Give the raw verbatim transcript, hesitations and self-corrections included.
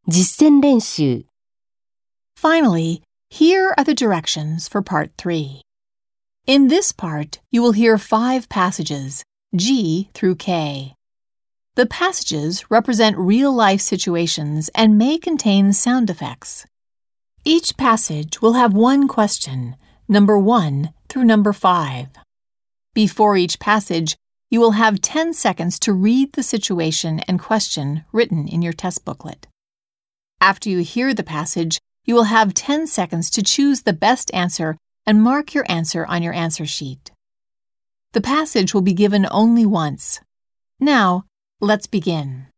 実践練習 Finally, here are the directions for Part three. In this part, you will hear five passages, G through K. The passages represent real-life situations and may contain sound effects. Each passage will have one question, number one through number five. Before each passage, you will have ten seconds to read the situation and question written in your test booklet. After you hear the passage, you will have ten seconds to choose the best answer and mark your answer on your answer sheet. The passage will be given only once. Now, let's begin.